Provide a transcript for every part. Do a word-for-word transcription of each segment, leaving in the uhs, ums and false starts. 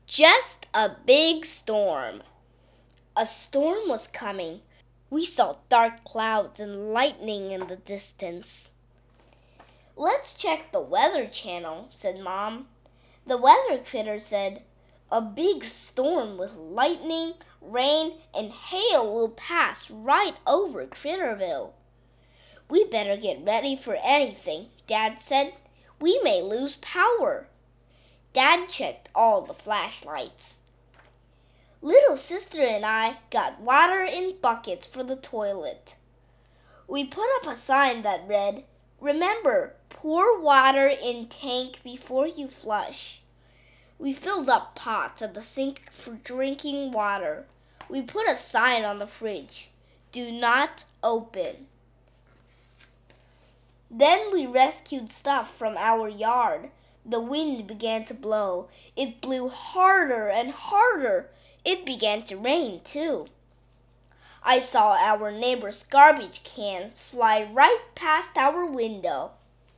Just a big storm. A storm was coming. We saw dark clouds and lightning in the distance. "Let's check the Weather Channel," said Mom. The weather critter said, "A big storm with lightning, rain, and hail will pass right over Critterville." "We better get ready for anything," Dad said. "We may lose power." Dad checked all the flashlights. Little sister and I got water in buckets for the toilet. We put up a sign that read, "Remember, pour water in tank before you flush." We filled up pots at the sink for drinking water. We put a sign on the fridge, "Do not open." Then we rescued stuff from our yard. The wind began to blow. It blew harder and harder. It began to rain, too. I saw our neighbor's garbage can fly right past our window.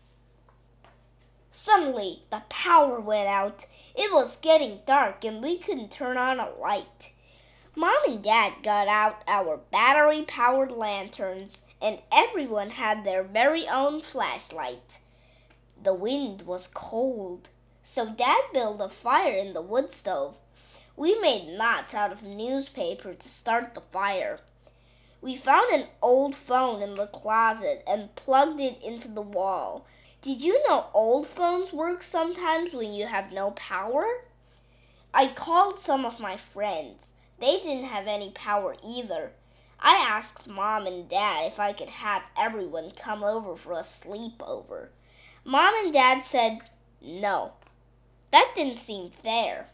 Suddenly, the power went out. It was getting dark and we couldn't turn on a light. Mom and Dad got out our battery-powered lanterns, and everyone had their very own flashlight. The wind was cold, so Dad built a fire in the wood stove. We made knots out of newspaper to start the fire. We found an old phone in the closet and plugged it into the wall. Did you know old phones work sometimes when you have no power? I called some of my friends. They didn't have any power either. I asked Mom and Dad if I could have everyone come over for a sleepover. Mom and Dad said no. That didn't seem fair.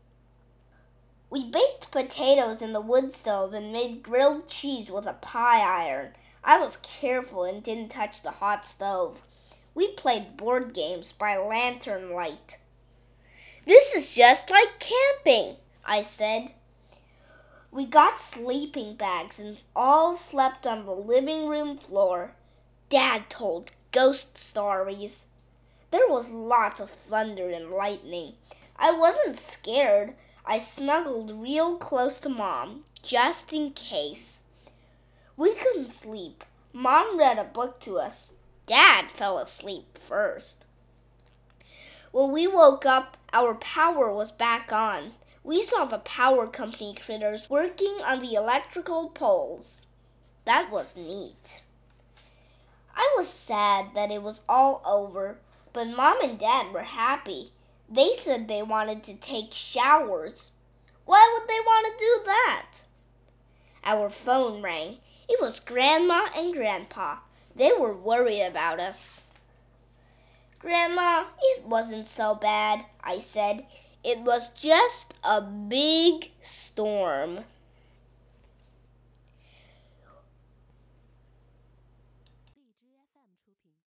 We baked potatoes in the wood stove and made grilled cheese with a pie iron. I was careful and didn't touch the hot stove. We played board games by lantern light. "This is just like camping," I said. We got sleeping bags and all slept on the living room floor. Dad told ghost stories. There was lots of thunder and lightning. I wasn't scared. I snuggled real close to Mom, just in case. We couldn't sleep. Mom read a book to us. Dad fell asleep first. When we woke up, our power was back on. We saw the power company critters working on the electrical poles. That was neat. I was sad that it was all over, but Mom and Dad were happy. They said they wanted to take showers. Why would they want to do that? Our phone rang. It was Grandma and Grandpa. They were worried about us. "Grandma, it wasn't so bad," I said. "It was just a big storm."